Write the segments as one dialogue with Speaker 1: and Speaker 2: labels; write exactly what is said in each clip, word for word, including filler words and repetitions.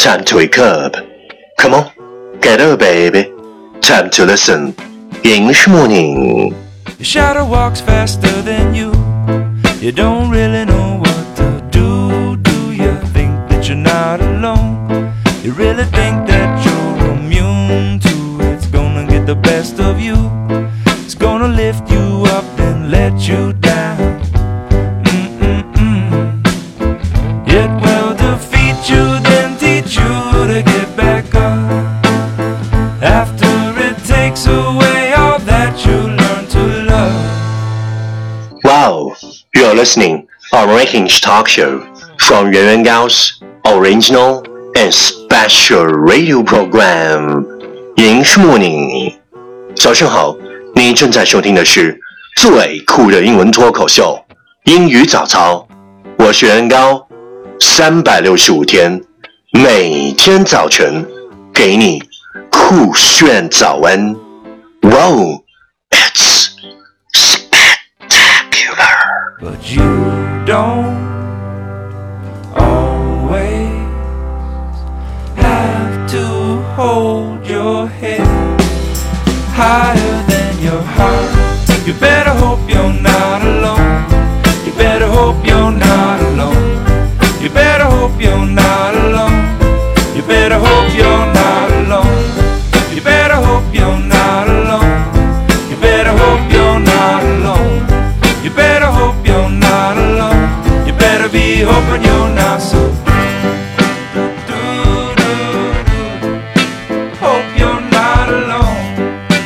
Speaker 1: Time to wake up. Come on, get up, baby. Time to listen. English morning.
Speaker 2: Your shadow walks faster than you. You don't really know what to do. Do you think that you're not alone? You really think that you're immune to it's gonna get the best of you. It's gonna lift you up and let you down. Mm-mm-mm. It will defeat you, then teach you to get back up. After it takes away all that you learn to love.
Speaker 1: Wow, you are listening our English talk show from Yuan Yuan Gao's original and special radio program. English morning. 早上好，你正在收听的是最酷的英文脱口秀英语早操。我是袁高，三百六十五天，每天早晨给你酷炫早安。Wow, it's spectacular.
Speaker 2: But you don't always have to hold your head higher than your heart. You better hope you're not alone. You better hope you're not alone. You better hope you're not alone. You better hope you're not alone. You better hope you're not alone. You better hope you're not alone. You better hope you're not alone. You better be hoping you're not so. Hope you're not alone.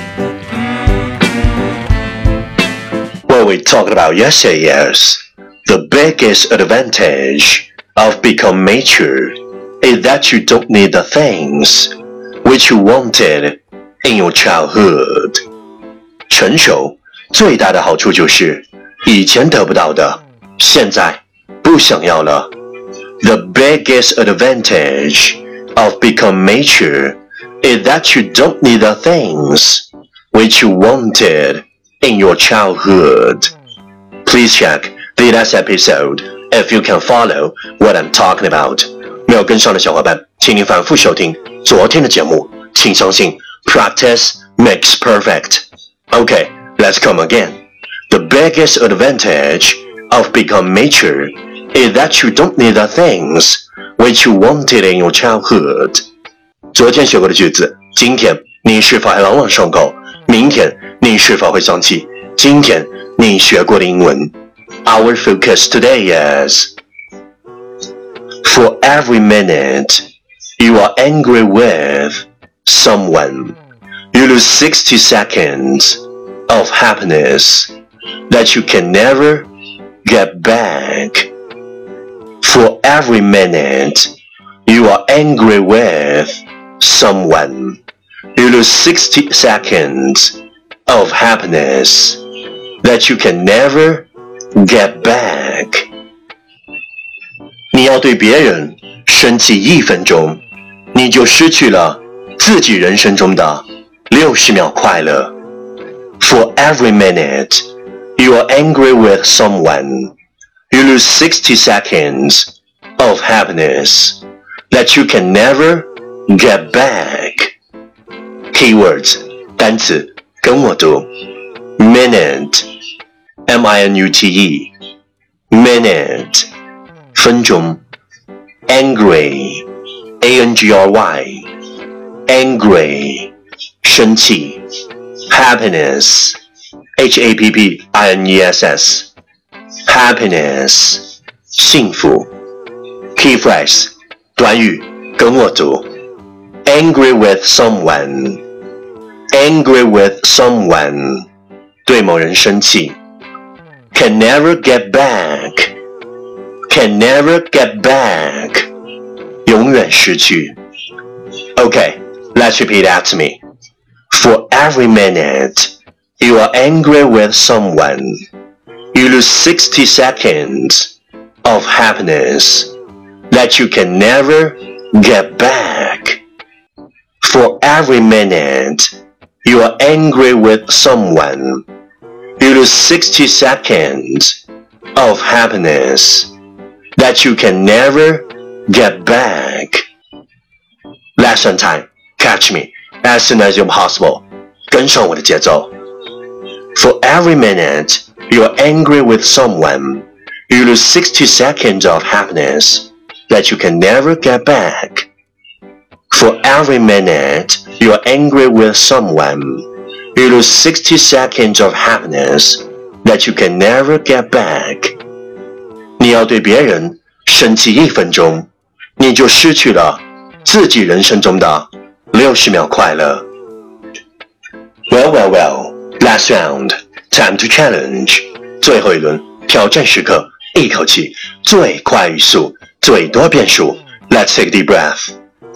Speaker 1: What we talked about yesterday is the biggest advantage of becoming mature is that you don't need the things which you wanted in your childhood. 成熟最大的好处就是以前得不到的，现在不想要了。The biggest advantage of becoming mature is that you don't need the things which you wanted in your childhood. Please check the last episode if you can follow what I'm talking about. 没有跟上的小伙伴，请您反复收听昨天的节目。请相信 practice makes perfect. Okay, let's come again. The biggest advantage of becoming mature is that you don't need the things which you wanted in your childhood. 昨天学过的句子，今天你是否还朗朗上口？明天你是否会想起今天你学过的英文？ Our focus today is for every minute you are angry with someone, you lose sixty seconds of happiness that you can never get back. For every minute you are angry with someone, you lose sixty seconds of happiness that you can never get back. 你要对别人生气一分钟，你就失去了自己人生中的六十秒快乐。For every minute you are angry with someone, you lose sixty seconds of happiness that you can never get back. Keywords 单词跟我读 Minute M I N U T E Minute 分钟 Angry A N G R Y Angry 生气 Happiness H A P P I N E S S Happiness 幸福 Key phrase 短语跟我读 Angry with someone Angry with someone 对某人生气 Can never get back Can never get back 永远失去 Okay, let's repeat after me. For every minute you are angry with someone, you lose sixty seconds of happiness that you can never get back. For every minute you are angry with someone, you lose sixty seconds of happiness that you can never get back. Lesson time. Catch me as soon as you're possible. 跟上我的节奏。For every minute you're angry with someone, you lose sixty seconds of happiness that you can never get back. For every minute you're angry with someone, you lose sixty seconds of happiness that you can never get back. 你要对别人生气一分钟，你就失去了自己人生中的六十秒快乐。Well, well, well. Last round. Time to challenge. 最后一轮挑战时刻，一口气最快语速，最多变数。Let's take a deep breath.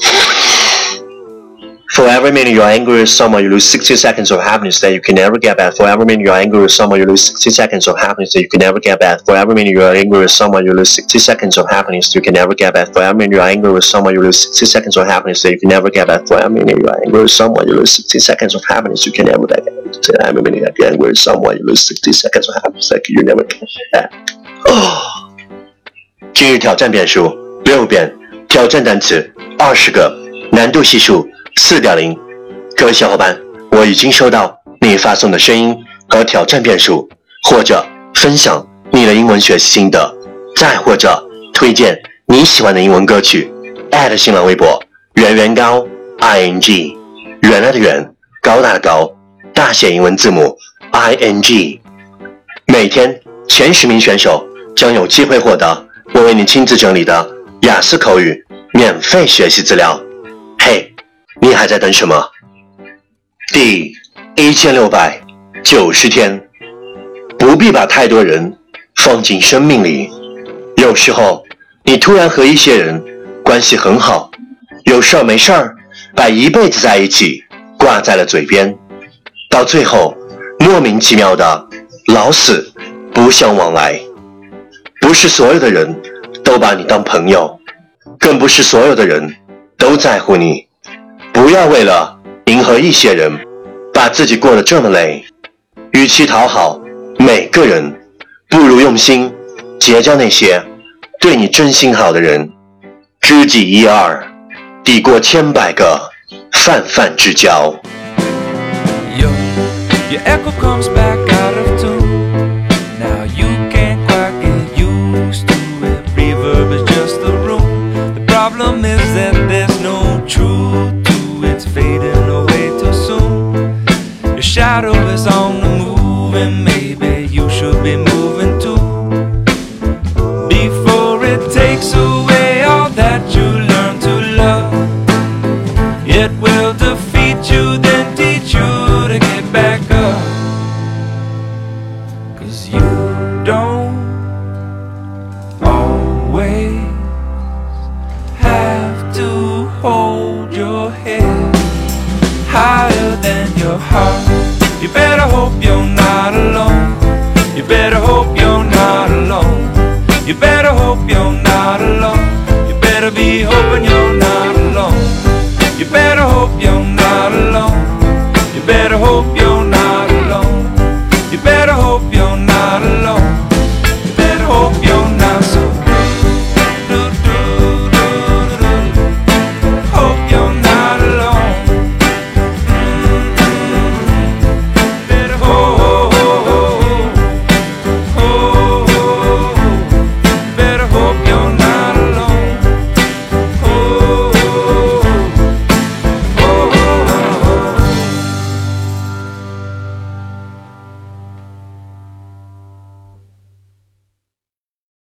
Speaker 1: For every minute you're angry with someone, you lose sixty seconds of happiness that you can never get back. For every minute you're angry with someone, you lose sixty seconds of happiness that you can never get back. For every minute you're angry with someone, you lose sixty seconds of happiness you can never get back. For every minute you're angry with someone, you lose sixty seconds of happiness that you can never get back. For every minute you're angry with someone, you lose sixty seconds of happiness you can never get back. For every minute you're angry with someone, you lose sixty seconds of happiness that you never get back. 哦，今日挑战变数六遍，挑战单词二十个，难度系数四点零。各位小伙伴，我已经收到你发送的声音和挑战变数，或者分享你的英文学习心得，再或者推荐你喜欢的英文歌曲，艾特新浪微博圆圆高 ing 原来的圆，高大的高，大写英文字母 ing。 每天前十名选手将有机会获得我为你亲自整理的雅思口语免费学习资料。嘿，你还在等什么？第一千六百九十天，不必把太多人放进生命里。有时候你突然和一些人关系很好，有事儿没事儿把一辈子在一起挂在了嘴边，到最后莫名其妙的老死不相往来。不是所有的人都把你当朋友，更不是所有的人都在乎你。不要为了迎合一些人把自己过得这么累，与其讨好每个人，不如用心结交那些对你真心好的人。知己一二，抵过千百个泛泛之交。
Speaker 2: Yo, your echo comes back out of tune. Now you can't quite get used to it. Reverb is just the room. The problem is that there's no truth to it. It's fading away too soon. Your shadow is on the move, and maybe you should be moving too. Before it takes away all that you learn to love, it will defeat you, then teach you to get back up. 'Cause you don't always have to hold your head higher than your heart. You better hope you're not alone. You better hope you're not alone. You better hope you're not